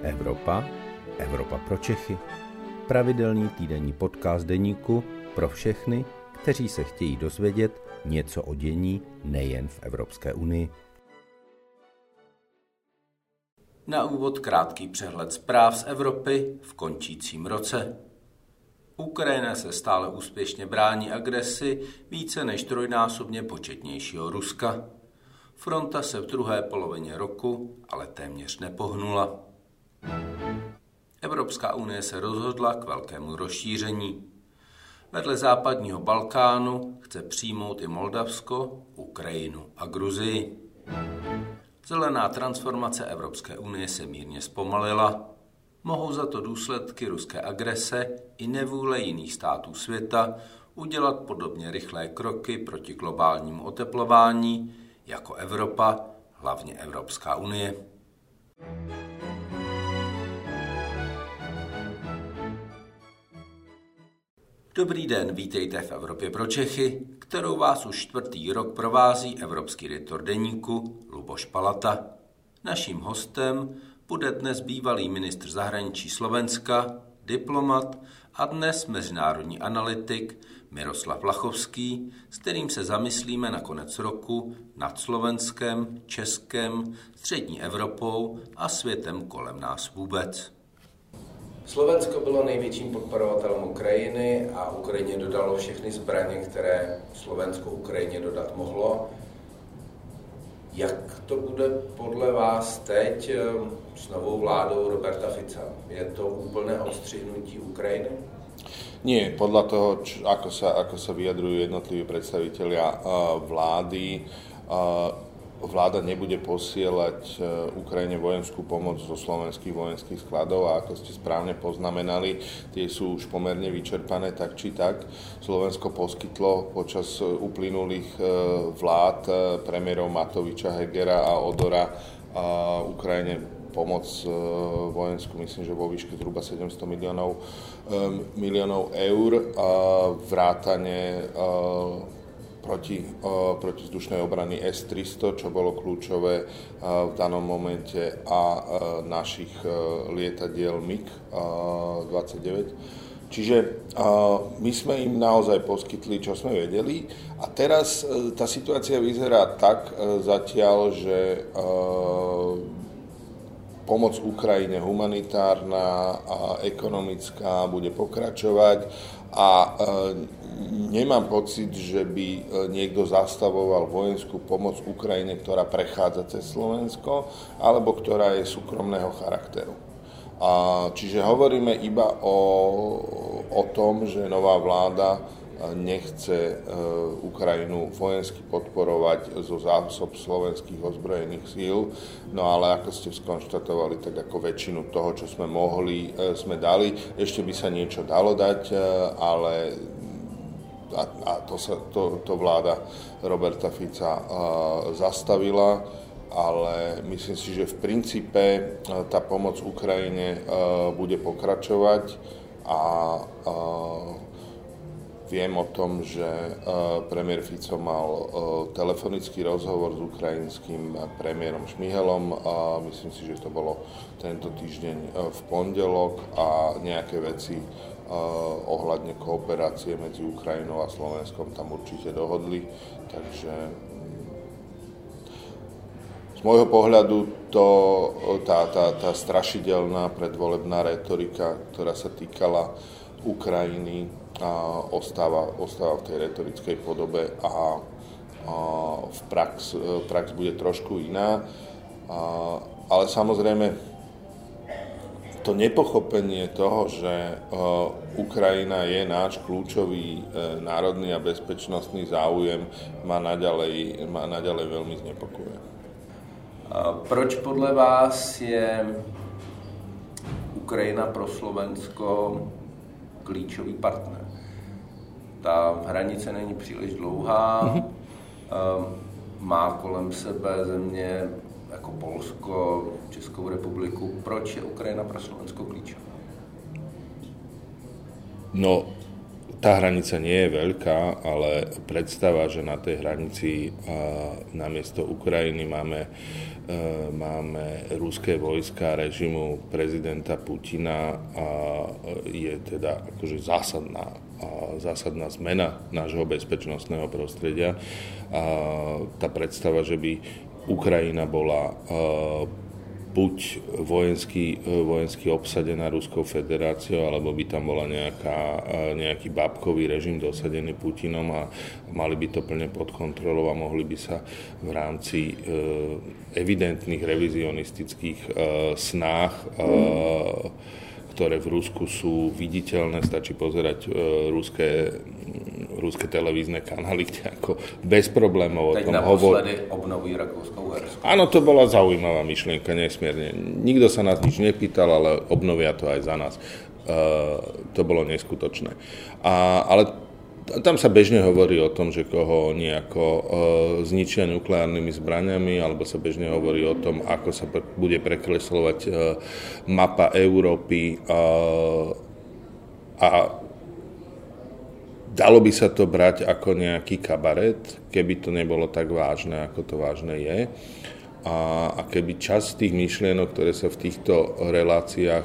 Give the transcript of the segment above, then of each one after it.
Evropa, Evropa pro Čechy. Pravidelný týdenní podcast deníku pro všechny, kteří se chtějí dozvědět něco o dění nejen v Evropské unii. Na úvod krátký přehled zpráv z Evropy v končícím roce. Ukrajina se stále úspěšně brání agresi více než trojnásobně početnějšího Ruska. Fronta se v druhé polovině roku ale téměř nepohnula. Evropská unie se rozhodla k velkému rozšíření. Vedle západního Balkánu chce přijmout i Moldavsko, Ukrajinu a Gruzii. Zelená transformace Evropské unie se mírně zpomalila. Mohou za to důsledky ruské agrese i nevůle jiných států světa udělat podobně rychlé kroky proti globálnímu oteplování jako Evropa, hlavně Evropská unie. Dobrý den, vítejte v Evropě pro Čechy, kterou vás už čtvrtý rok provází evropský editor deníku Luboš Palata. Naším hostem bude dnes bývalý ministr zahraničí Slovenska, diplomat a dnes mezinárodní analytik Miroslav Lachovský, s kterým se zamyslíme na konec roku nad Slovenskem, Českem, střední Evropou a světem kolem nás vůbec. Slovensko bylo největším podporovatelem Ukrajiny a Ukrajině dodalo všechny zbraně, které Slovensko Ukrajině dodat mohlo. Jak to bude podle vás teď s novou vládou Roberta Fica? Je to úplné odstřihnutí Ukrajiny? Nie, podľa toho, ako sa vyjadrujú jednotliví predstavitelia vlády, vláda nebude posielať Ukrajine vojenskú pomoc zo slovenských vojenských skladov a ako ste správne poznamenali, tie sú už pomerne vyčerpané tak či tak. Slovensko poskytlo počas uplynulých vlád premiérov Matoviča, Hegera a Odora Ukrajine pomoc vojenskú, myslím, že vo výške zhruba 700 miliónov eur, vrátane protizdušnej obrany S-300, čo bolo kľúčové v danom momente, a našich lietadiel MiG-29. Čiže my sme im naozaj poskytli, čo sme vedeli. A teraz tá situácia vyzerá tak zatiaľ, že pomoc Ukrajine humanitárna a ekonomická bude pokračovať a nemám pocit, že by niekto zastavoval vojenskú pomoc Ukrajine, ktorá prechádza cez Slovensko alebo ktorá je súkromného charakteru. Čiže hovoríme iba o tom, že nová vláda nechce Ukrajinu vojensky podporovať zo zásob slovenských ozbrojených síl, no ale ako ste skonštatovali, tak ako väčšinu toho, čo sme mohli, sme dali. Ešte by sa niečo dalo dať, ale to vláda Roberta Fica zastavila, ale myslím si, že v princípe tá pomoc Ukrajine bude pokračovať a viem o tom, že premiér Fico mal telefonický rozhovor s ukrajinským premiérom Šmihelom a myslím si, že to bolo tento týždeň v pondelok a nejaké veci ohľadne kooperácie medzi Ukrajinou a Slovenskom tam určite dohodli. Takže z môjho pohľadu tá strašidelná predvolebná retorika, ktorá sa týkala Ukrajiny, ostáva v tej retorickej podobe a v prax bude trošku iná. Ale samozrejme to nepochopenie toho, že Ukrajina je náš kľúčový národný a bezpečnostný záujem, ma naďalej veľmi znepokojuje. Proč podle vás je Ukrajina pro Slovensko klíčový partner? Ta hranice není příliš dlouhá, má kolem sebe země jako Polsko, Českou republiku. Proč je Ukrajina pro Slovensko klíčová? No, Tá hranica nie je veľká, ale predstava, že na tej hranici namiesto Ukrajiny máme ruské vojska režimu prezidenta Putina, je teda akože zásadná zmena nášho bezpečnostného prostredia. Tá predstava, že by Ukrajina bola buď vojensky obsadená Ruskou federáciou, alebo by tam bola nejaký bábkový režim dosadený Putinom a mali by to plne pod kontrolou a mohli by sa v rámci evidentných revizionistických snách, ktoré v Rusku sú viditeľné, stačí pozerať ruské televízne kanály, kde ako bez problémov o tom hovorí. Teď naposledy obnovují Rakúsko-Uhersko. Áno, to bola zaujímavá myšlienka, nesmierne. Nikto sa nás nič nepýtal, ale obnovia to aj za nás. To bolo neskutočné. Ale tam sa bežne hovorí o tom, že koho nejako zničia nukleárnymi zbraňami, alebo sa bežne hovorí o tom, ako sa bude prekresľovať mapa Európy a dalo by sa to brať ako nejaký kabaret, keby to nebolo tak vážne, ako to vážne je. A keby časť tých myšlienok, ktoré sa v týchto reláciách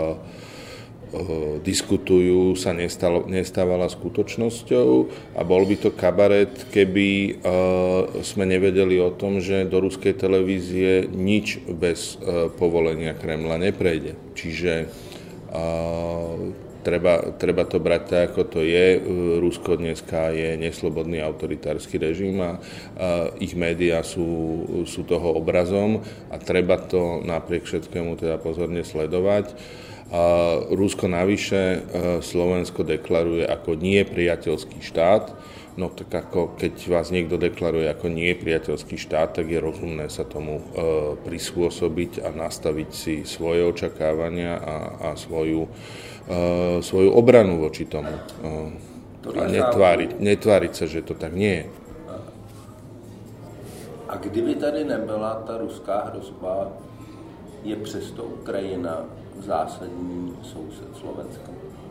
diskutujú, sa nestávala skutočnosťou a bol by to kabaret, keby sme nevedeli o tom, že do ruskej televízie nič bez povolenia Kremla neprejde. Čiže treba to brať tak, ako to je. Rusko dneska je neslobodný autoritársky režim a ich médiá sú toho obrazom a treba to napriek všetkému teda pozorne sledovať. Rusko navyše Slovensko deklaruje ako nie priateľský štát. No tak ako keď vás niekto deklaruje ako nie priateľský štát, tak je rozumné sa tomu prispôsobiť a nastaviť si svoje očakávania a svoju obranu voči tomu. A netváriť sa, že to tak nie je. A kdyby tady nebyla ta ruská hrozba, je přesto Ukrajina zásadní soused Slovenska?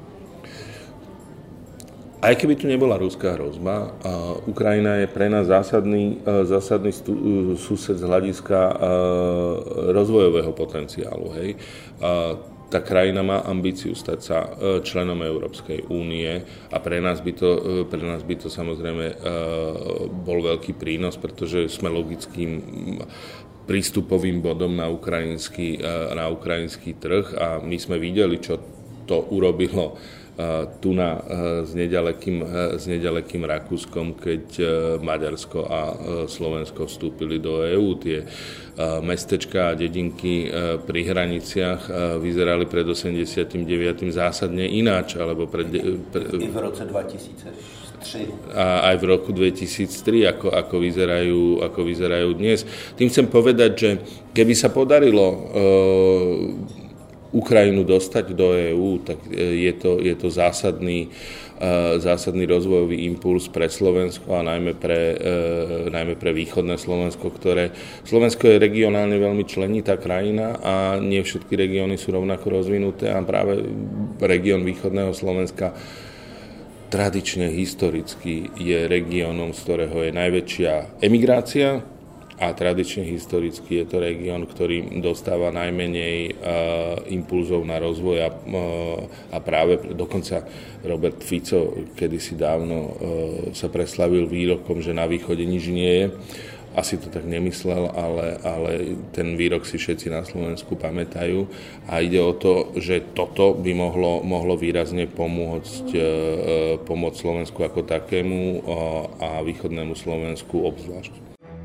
Aj keby tu nebola ruská hrozba, Ukrajina je pre nás zásadný sused z hľadiska rozvojového potenciálu. Hej. Tá krajina má ambíciu stať sa členom Európskej únie a pre nás by to samozrejme bol veľký prínos, pretože sme logickým prístupovým bodom na ukrajinský trh a my sme videli, čo to urobilo tu s nedalekým Rakúskom, keď Maďarsko a Slovensko vstúpili do EÚ. Tie mestečká a dedinky pri hraniciach vyzerali pred 89. zásadne ináč, alebo i v roce 2003. A aj v roku 2003, ako vyzerajú dnes. Tým chcem povedať, že keby sa podarilo Ukrajinu dostať do EÚ, tak je to zásadný rozvojový impuls pre Slovensko a najmä pre východné Slovensko, Slovensko je regionálne veľmi členitá krajina a nie všetky regióny sú rovnako rozvinuté a práve región východného Slovenska tradične historicky je regiónom, z ktorého je najväčšia emigrácia a tradične historicky je to región, ktorý dostáva najmenej impulzov na rozvoj a práve dokonca Robert Fico kedysi dávno sa preslavil výrokom, že na východe nič nie je. Asi to tak nemyslel, ale ten výrok si všetci na Slovensku pamätajú a ide o to, že toto by mohlo výrazne pomôcť Slovensku ako takému a východnému Slovensku obzvlášť.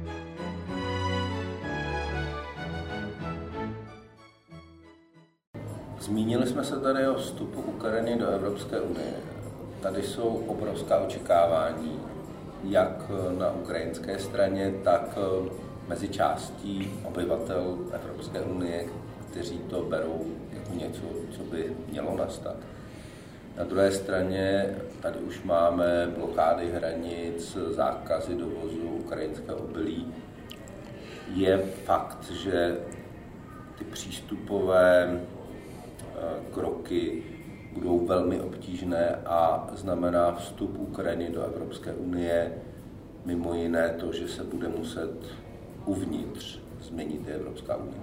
Zmínili jsme se tady o vstupu Ukrajiny do Evropské unie. Tady jsou obrovská očekávání, jak na ukrajinské straně, tak mezi částí obyvatel Evropské unie, kteří to berou jako něco, co by mělo nastat. Na druhé straně tady už máme blokády hranic, zákazy dovozu ukrajinského obilí. Je fakt, že ty přístupové kroky budou velmi obtížné a znamená vstup Ukrajiny do Evropské unie, mimo jiné to, že se bude muset uvnitř změnit Evropská unie.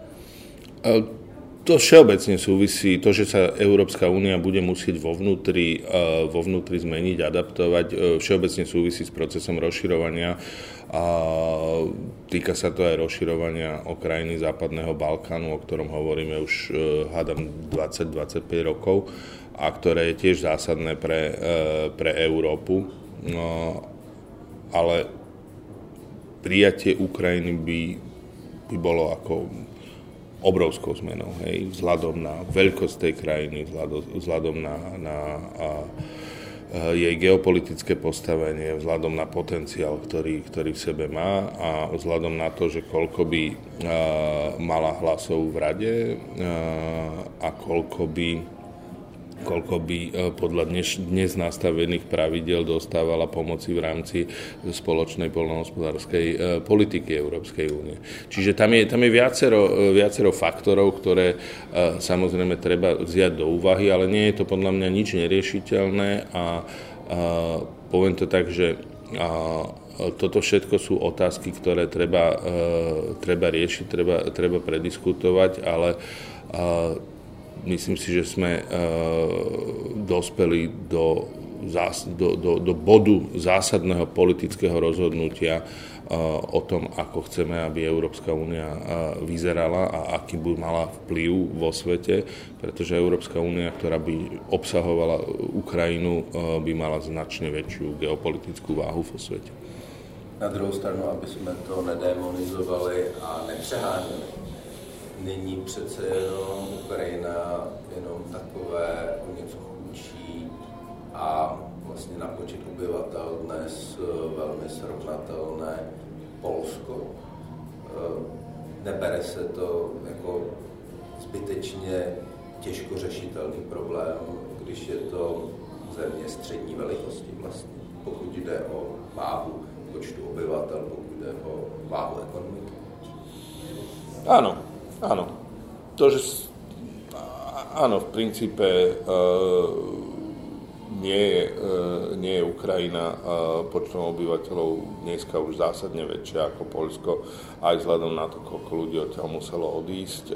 To všeobecne súvisí, to, že sa Európska únia bude musieť vo vnútri zmeniť, adaptovať, všeobecne súvisí s procesom rozširovania a týka sa to aj rozširovania o krajiny Západného Balkánu, o ktorom hovoríme už hádam 20-25 rokov a ktoré je tiež zásadné pre Európu. Ale prijatie Ukrajiny by bolo ako obrovskou zmenou, hej, vzhľadom na veľkosť tej krajiny, vzhľadom na jej geopolitické postavenie, vzhľadom na potenciál, ktorý v sebe má a vzhľadom na to, že koľko by mala hlasov v rade a koľko by podľa dnes nastavených pravidiel dostávala pomoci v rámci spoločnej poľnohospodárskej politiky Európskej únie. Čiže tam je viacero faktorov, ktoré samozrejme treba vziať do úvahy, ale nie je to podľa mňa nič neriešiteľné a poviem to tak, že toto všetko sú otázky, ktoré treba riešiť, treba prediskutovať, ale myslím si, že sme dospeli do bodu zásadného politického rozhodnutia o tom, ako chceme, aby Európska únia vyzerala a aký by mala vplyv vo svete, pretože Európska únia, ktorá by obsahovala Ukrajinu, by mala značne väčšiu geopolitickú váhu vo svete. Na druhou stranu, aby sme to nedemonizovali a nepřeháněli. Není přece jenom Ukrajina jenom takové o něco chudší a vlastně na počet obyvatel dnes velmi srovnatelné Polsko. Nebere se to jako zbytečně těžko řešitelný problém, když je to země střední velikosti vlastně, pokud jde o váhu počtu obyvatel, pokud jde o váhu ekonomiky. Áno. Áno, v princípe nie je Ukrajina počtom obyvateľov dneska už zásadne väčšia ako Poľsko, aj vzhľadom na to, koľko ľudí odtiaľ muselo odísť.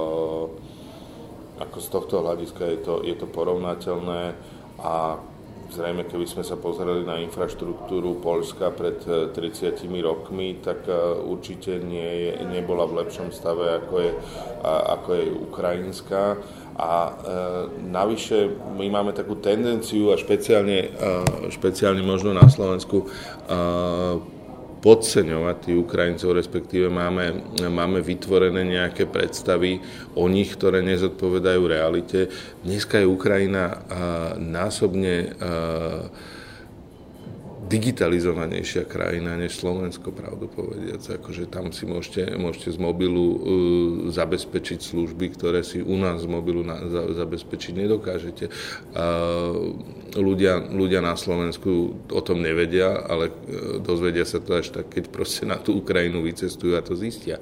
Ako z tohto hľadiska je to porovnateľné a zrejme, keby sme sa pozreli na infraštruktúru Poľska pred 30 rokmi, tak určite nebola v lepšom stave, ako je ukrajinská. A navyše my máme takú tendenciu, a špeciálne možno na Slovensku, podceňovať tých Ukrajincov, respektíve máme vytvorené nejaké predstavy o nich, ktoré nezodpovedajú realite. Dneska je Ukrajina násobne digitalizovanejšia krajina než Slovensko, pravdu povediac. Akože tam si môžete z mobilu zabezpečiť služby, ktoré si u nás z mobilu zabezpečiť nedokážete. Ľudia na Slovensku o tom nevedia, ale dozvedia sa to až tak, keď proste na tú Ukrajinu vycestujú a to zistia.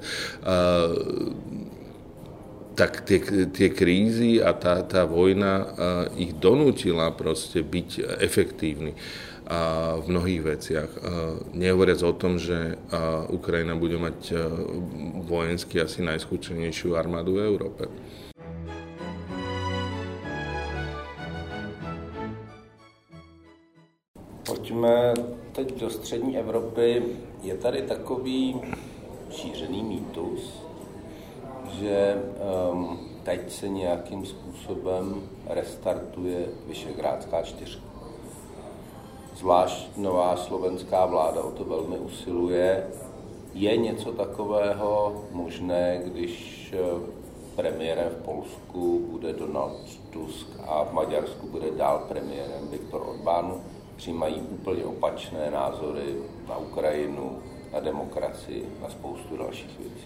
Tak tie krízy a tá vojna ich donútila proste byť efektívni v mnohých veciach. Nehovoriac o tom, že Ukrajina bude mať vojensky asi najskúsenejšiu armádu v Európe. Pojďme teď do střední Evropy. Je tady takový šířený mýtus, že teď se nějakým způsobem restartuje Visegrádská čtyřka. Zvlášť nová slovenská vláda o to velmi usiluje. Je něco takového možné, když premiérem v Polsku bude Donald Tusk a v Maďarsku bude dál premiérem Viktor Orbán? Přijímají úplně opačné názory na Ukrajinu, na demokracii, na spoustu dalších věcí.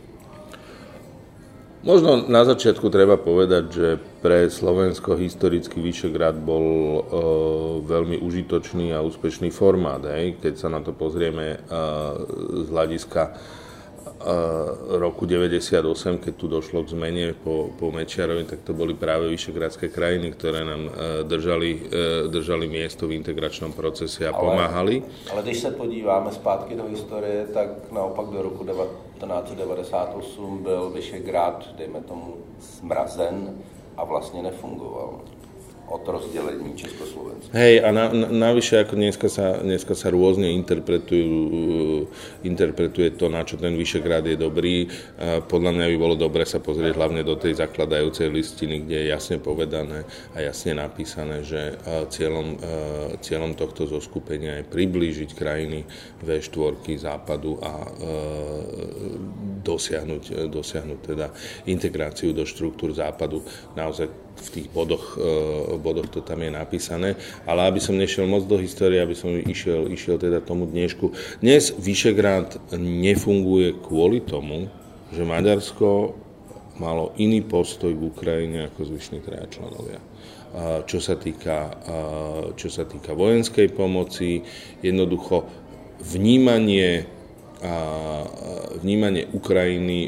Možno na začiatku treba povedať, že pre Slovensko historicky Vyšegrad bol veľmi užitočný a úspešný formát. Keď sa na to pozrieme z hľadiska roku 98, keď tu došlo k zmene po Mečiarovi, tak to boli práve vyšegrádske krajiny, ktoré nám držali miesto v integračnom procese a pomáhali. Ale když se podíváme zpátky do historie, tak naopak do roku 1998 byl Vyšegrád, dejme tomu, zmrazen a vlastně nefungoval od rozdelení Československa. Hej, a navyše, ako dneska sa rôzne interpretuje to, na čo ten Vyšegrád je dobrý. Podľa mňa by bolo dobre sa pozrieť hlavne do tej zakladajúcej listiny, kde je jasne povedané a jasne napísané, že cieľom tohto zoskupenia je priblížiť krajiny V4 západu a dosiahnuť teda integráciu do štruktúr západu. Naozaj v tých bodoch to tam je napísané, ale aby som nešiel moc do histórie, aby som išiel teda tomu dnešku. Dnes Vyšegrád nefunguje kvôli tomu, že Maďarsko malo iný postoj k Ukrajine ako zvyšní traja členovia. Čo sa týka vojenskej pomoci, jednoducho vnímanie Ukrajiny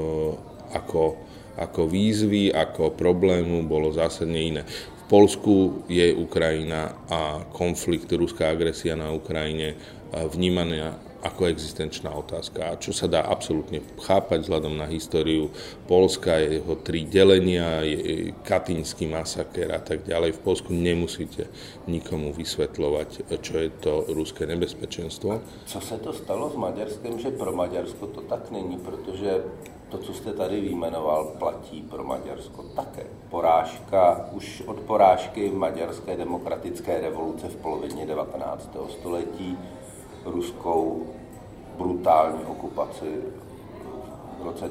ako výzvy, ako problému bolo zásadne iné. V Poľsku je Ukrajina a konflikt, ruská agresia na Ukrajine vnímaná ako existenčná otázka, čo sa dá absolútne chápať vzhľadom na históriu Poľska, jeho 3 delenia, katyňský masaker a tak ďalej. V Poľsku nemusíte nikomu vysvetľovať, čo je to ruské nebezpečenstvo. Co se to stalo s Maďarskem, že pro Maďarsko to tak není, protože to, co jste tady vyjmenoval, platí pro Maďarsko také. Porážka, už od porážky maďarské demokratické revoluce v polovině 19. století, ruskou brutální okupaci v roce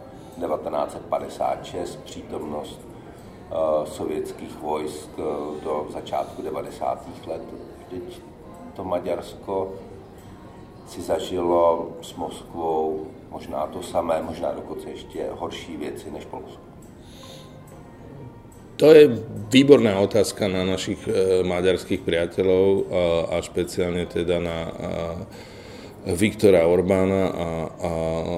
1956, přítomnost sovětských vojsk do začátku 90. let. Teď to Maďarsko si zažilo s Moskvou možná to samé, možná dokonce ještě horší věci než Polsko. To je výborná otázka na našich maďarských priateľov a špeciálne teda na Viktora Orbána a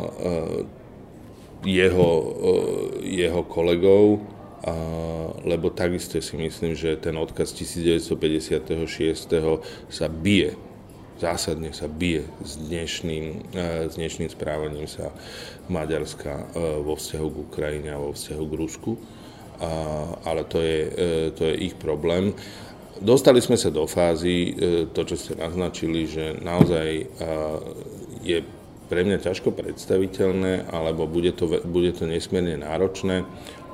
jeho kolegov, lebo takisto si myslím, že ten odkaz 1956. sa bije, zásadne sa bije s dnešným správaním sa Maďarska vo vzťahu k Ukrajine a vo vzťahu k Rusku. Ale to je ich problém. Dostali sme sa do fázy, to, čo ste naznačili, že naozaj je pre mňa ťažko predstaviteľné, alebo bude to nesmierne náročné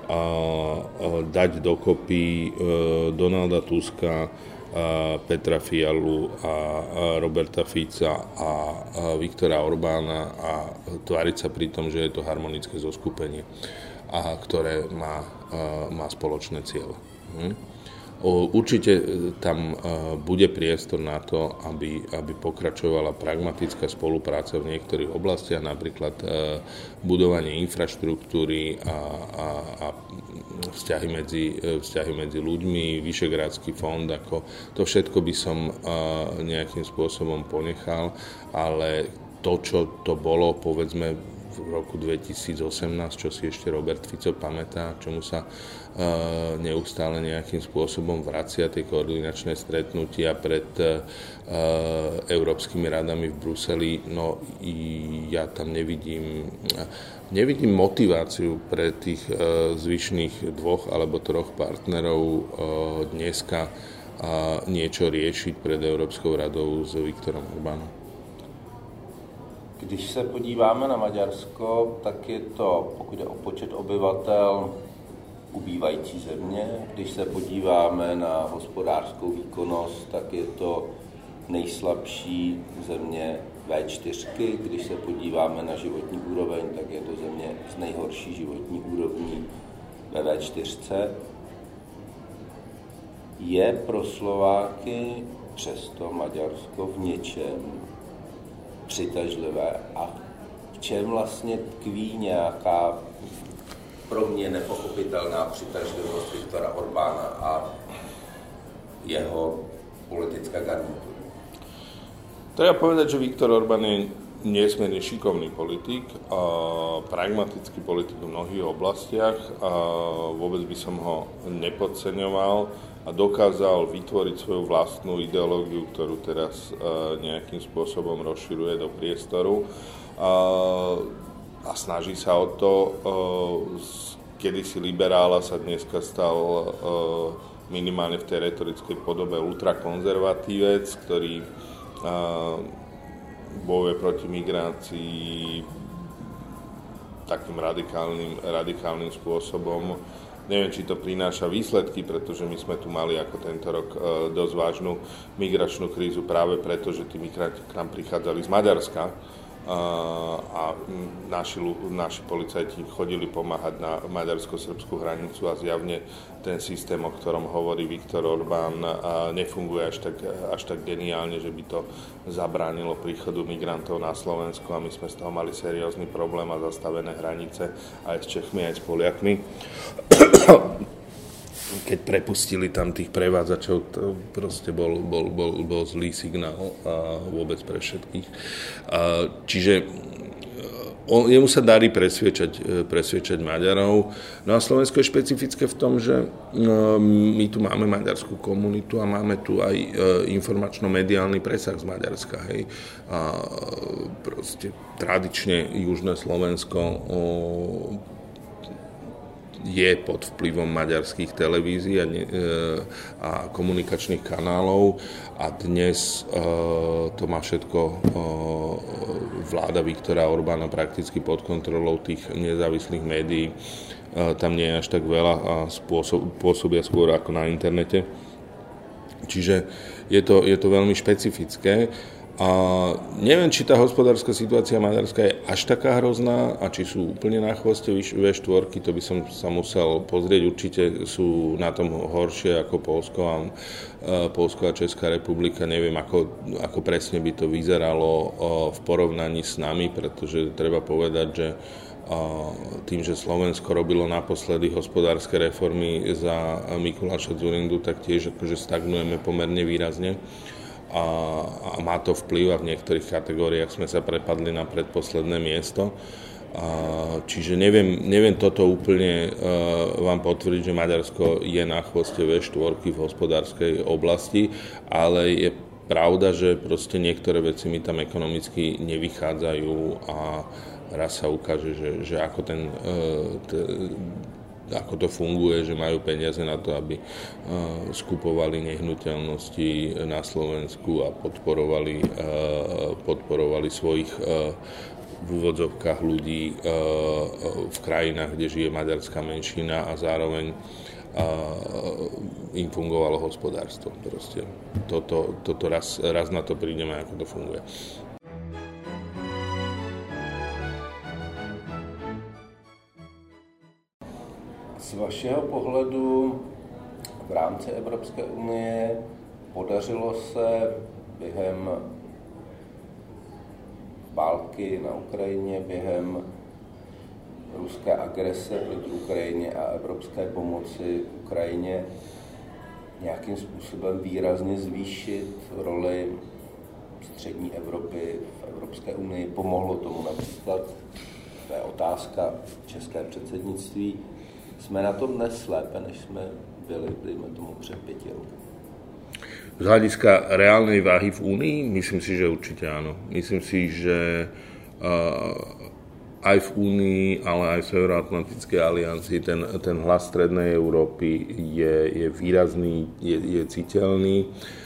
dať dokopy Donalda Tuska, Petra Fialu a Roberta Fica a Viktora Orbána a tváriť sa pri tom, že je to harmonické zoskupenie, a ktoré má spoločné cieľe. Určite tam bude priestor na to, aby pokračovala pragmatická spolupráca v niektorých oblastiach, napríklad budovanie infraštruktúry a vzťahy medzi ľuďmi, Vyšegrádsky fond, ako to všetko by som nejakým spôsobom ponechal, ale to, čo to bolo, povedzme, v roku 2018, čo si ešte Robert Fico pamätá, čomu sa neustále nejakým spôsobom vracia tie koordinačné stretnutia pred európskymi radami v Bruseli. No ja tam nevidím motiváciu pre tých zvyšných 2 alebo 3 partnerov dneska niečo riešiť pred Európskou radou s Viktorom Orbánom. Když se podíváme na Maďarsko, tak je to, pokud je o počet obyvatel, ubývající země. Když se podíváme na hospodářskou výkonnost, tak je to nejslabší země V4. Když se podíváme na životní úroveň, tak je to země s nejhorší životní úrovní ve V4. Je pro Slováky přesto Maďarsko v něčem přitažlivé a v čem vlastně tkví nějaká pro mě nepochopitelná přitažlivost Viktora Orbána a jeho politická garnitura? Treba povedať, že Viktor Orbán je nesmierne šikovný politik, pragmatický politik v mnohých oblastiach, vôbec by som ho nepodceňoval a dokázal vytvoriť svoju vlastnú ideológiu, ktorú teraz nejakým spôsobom rozširuje do priestoru a snaží sa o to. Kedysi liberála sa dneska stal minimálne v tej retorickej podobe ultrakonzervatívec, ktorý bojuje proti migrácii takým radikálnym spôsobom. Neviem, či to prináša výsledky, pretože my sme tu mali ako tento rok dosť vážnu migračnú krízu práve preto, že tí migranti k nám prichádzali z Maďarska a naši policajti chodili pomáhať na maďarsko-srbskú hranicu a zjavne ten systém, o ktorom hovorí Viktor Orbán, nefunguje až tak geniálne, že by to zabránilo príchodu migrantov na Slovensku a my sme z toho mali seriózny problém a zastavené hranice aj s Čechmi, aj s Poliakmi. Keď prepustili tam tých prevádzačov, to proste bol zlý signál vôbec pre všetkých. Čiže jemu sa darí presviečať Maďarov. No a Slovensko je špecifické v tom, že my tu máme maďarskú komunitu a máme tu aj informačno-mediálny presah z Maďarska. Hej. A proste tradične južné Slovensko je pod vplyvom maďarských televízií a komunikačných kanálov a dnes to má všetko vláda Viktora Orbána prakticky pod kontrolou tých nezávislých médií. Tam nie je až tak veľa a pôsobia skôr ako na internete. Čiže je to veľmi špecifické. A neviem, či tá hospodárska situácia maďarská je až taká hrozná a či sú úplne na chvoste V4, to by som sa musel pozrieť. Určite sú na tom horšie ako Poľsko a Česká republika. Neviem, ako presne by to vyzeralo v porovnaní s nami, pretože treba povedať, že tým, že Slovensko robilo naposledy hospodárske reformy za Mikuláša Dzurindu, tak tiež akože stagnujeme pomerne výrazne. A má to vplyv a v niektorých kategóriách sme sa prepadli na predposledné miesto. Čiže neviem toto úplne vám potvrdiť, že Maďarsko je na chvoste V4 v hospodárskej oblasti, ale je pravda, že proste niektoré veci mi tam ekonomicky nevychádzajú a raz sa ukáže, že ako to funguje, že majú peniaze na to, aby skupovali nehnuteľnosti na Slovensku a podporovali svojich v úvodzovkách ľudí v krajinách, kde žije maďarská menšina a zároveň im fungovalo hospodárstvo. Proste toto raz na to prídeme, ako to funguje. Z vašeho pohledu v rámci Evropské unie podařilo se během války na Ukrajině, během ruské agrese proti Ukrajině a evropské pomoci Ukrajině nějakým způsobem výrazně zvýšit roli střední Evropy v Evropské unii? Pomohlo tomu například, to je otázka, české předsednictví. Jsme na tom dnes lépe, než jsme byli, dejme tomu, před 5 roky? Z hľadiska reálnej váhy v Únii? Myslím si, že určite áno. Myslím si, že aj v Únii, ale aj v Severoatlantickej aliancii ten hlas Strednej Európy je výrazný, je citeľný.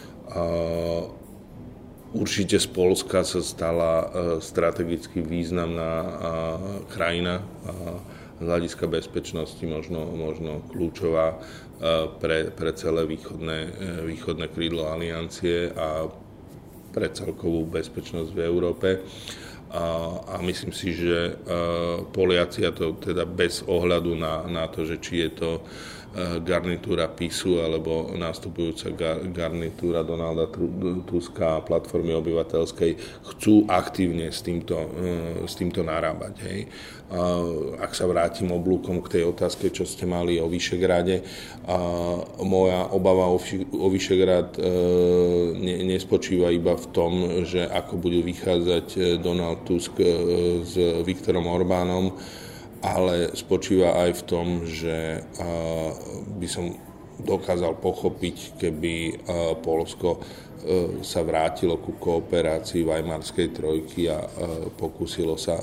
Určite z Poľska sa stala strategicky významná krajina, z hľadiska bezpečnosti možno kľúčová pre celé východné krídlo aliancie a pre celkovú bezpečnosť v Európe. A myslím si, že Poliaci, a to teda bez ohľadu na to, že či je to garnitúra PiSu alebo nastupujúca garnitúra Donalda Tuska a platformy obyvateľskej chcú aktívne s týmto narábať. Hej. Ak sa vrátim oblúkom k tej otázke, čo ste mali o Vyšegrade, moja obava o Vyšegrad nespočíva iba v tom, že ako budú vychádzať Donald Tusk s Viktorom Orbánom, ale spočíva aj v tom, že by som dokázal pochopiť, keby Poľsko sa vrátilo ku kooperácii Weimarskej trojky a pokúsilo sa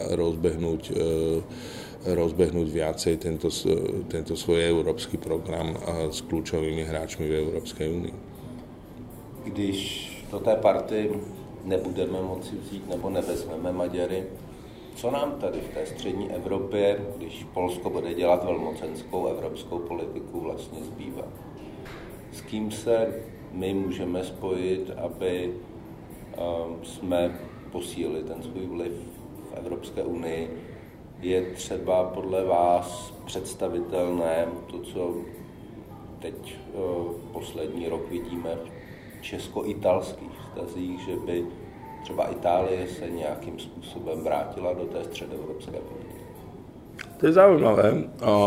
rozbehnúť viacej tento svoj európsky program s kľúčovými hráčmi v Európskej únii. Když do té party nebudeme moci vzít nebo nevezmeme Maďary, co nám tady v té střední Evropě, když Polsko bude dělat velmocenskou evropskou politiku, vlastně zbývá? S kým se my můžeme spojit, aby jsme posílili ten svůj vliv v Evropské unii? Je třeba podle vás představitelné to, co teď poslední rok vidíme v česko-italských vztazích, že by třeba Itálie se nějakým způsobem vrátila do té středoevropské politiky? To je zaujímavé.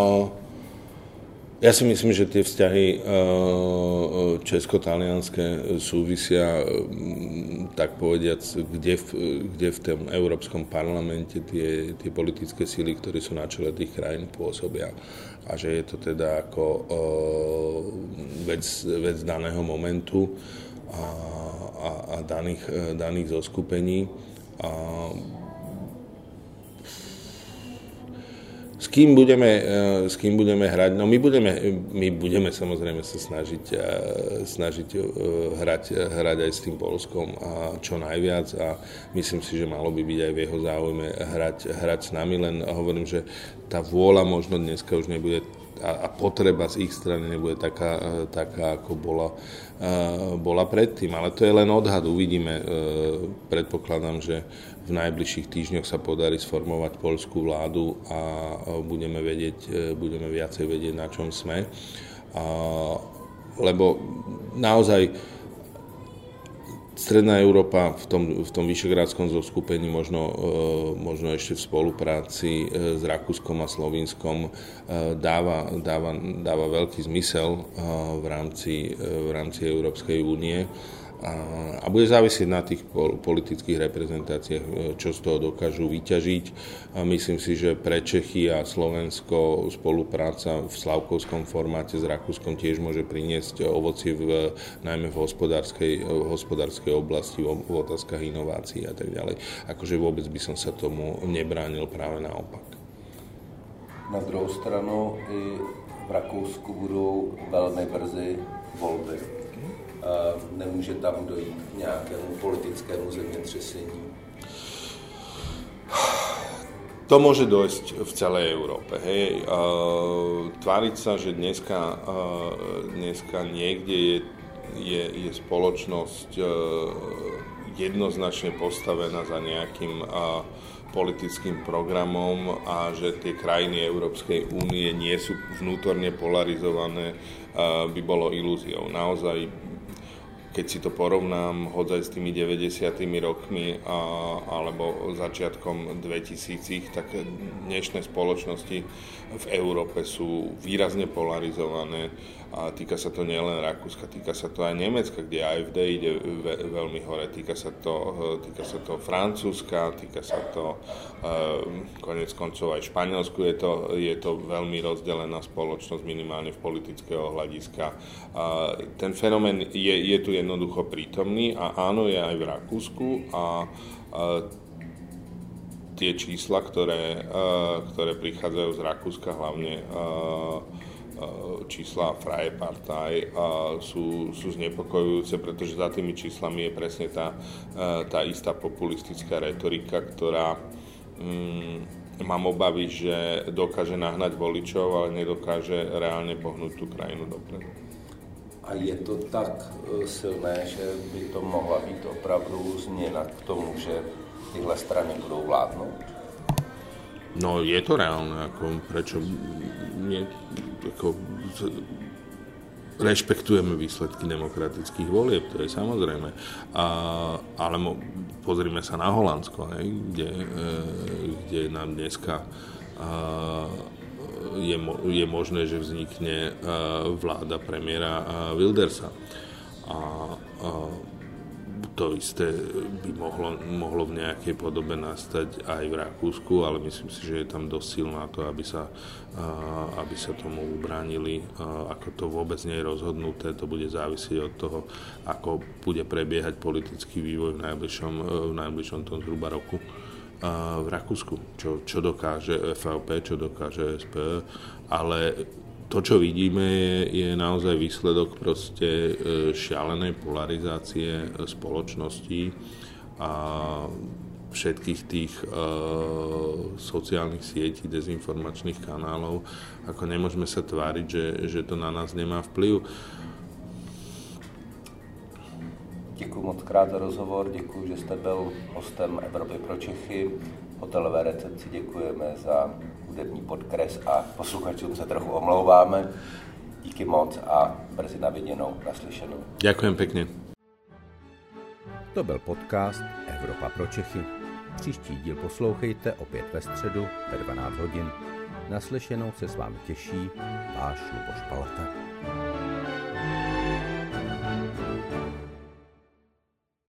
Ja si myslím, že tie vzťahy česko-talianské súvisia, tak povediac, kde v tom Európskom parlamente tie politické síly, ktoré sú na čele tých krajín, pôsobia. A že je to teda ako vec daného momentu a daných zoskupení. S kým budeme hrať? No my budeme samozrejme sa snažiť hrať aj s tým Poľskom a čo najviac a myslím si, že malo by byť aj v jeho záujme hrať s nami, len hovorím, že tá vôľa možno dneska už nebude a potreba z ich strany nebude taká ako bola predtým, ale to je len odhad, uvidíme. Predpokladám, že v najbližších týždňoch sa podarí sformovať poľskú vládu a budeme viacej vedieť, na čom sme. Lebo naozaj Stredná Európa v tom vyšegrádskom zoskupení možno ešte v spolupráci s Rakúskom a Slovinskom dáva veľký zmysel v rámci Európskej únie a bude závisieť na tých politických reprezentáciách, čo z toho dokážu vyťažiť. A myslím si, že pre Čechy a Slovensko spolupráca v slavkovskom formáte s Rakúskom tiež môže priniesť ovocie najmä v hospodárskej oblasti, v otázkach inovácií a tak ďalej. Akože vôbec by som sa tomu nebránil, práve naopak. Na druhou stranu i v Rakousku budou velmi brzy volby. Nemůže tam dojít k nějakému politickému zemětřesení? To môže dojsť v celej Európe. Hej. Tváriť sa, že dneska niekde je spoločnosť jednoznačne postavená za nejakým politickým programom a že tie krajiny Európskej únie nie sú vnútorne polarizované, by bolo ilúziou. Naozaj, keď si to porovnám hodzaj s tými 90. rokmi alebo začiatkom 2000, tak dnešné spoločnosti v Európe sú výrazne polarizované a týka sa to nielen Rakúska, týka sa to aj Nemecka, kde AfD ide veľmi hore, týka sa to Francúzska, týka sa to konec koncov aj Španielsku, je to veľmi rozdelená spoločnosť minimálne v politického hľadiska. Ten fenomén je tu jednoducho prítomný a áno, je aj v Rakúsku a tie čísla, ktoré prichádzajú z Rakúska, hlavne čísla Freie Partei, sú znepokojujúce, pretože za tými číslami je presne tá istá populistická retorika, ktorá mám obavy, že dokáže nahnať voličov, ale nedokáže reálne pohnúť tú krajinu dopredu. A je to tak silné, že by to mohla být opravdu změna k tomu, že tyhle strany budou vládnout? No je to reálne, prečo nie, rešpektujeme výsledky demokratických volieb, to je samozrejme. Ale pozrime sa na Holandsko, kde nám dneska je možné, že vznikne vláda premiéra Wildersa. To isté by mohlo v nejakej podobe nastať aj v Rakúsku, ale myslím si, že je tam dosť silná to, aby sa tomu ubránili. Ako to vôbec nie je rozhodnuté, to bude závisieť od toho, ako bude prebiehať politický vývoj v najbližšom tom zhruba roku v Rakúsku. Čo dokáže FVP, čo dokáže SPÖ, ale to, čo vidíme, je naozaj výsledok proste šialenej polarizácie spoločnosti a všetkých tých sociálnych sietí, dezinformačných kanálov. Ako nemôžeme sa tváriť, že to na nás nemá vplyv. Děkuji moc krát za rozhovor, děkuji, že jste byl hostem Evropy pro Čechy. Hotelové recepci děkujeme za hudební podkres a posluchačům se trochu omlouváme. Díky moc a brzy na viděnou, naslyšenou. Ďakujem pekne. To byl podcast Evropa pro Čechy. Příští díl poslouchejte opět ve středu ve 12 hodin. Naslyšenou se s vámi těší váš Luboš Palata.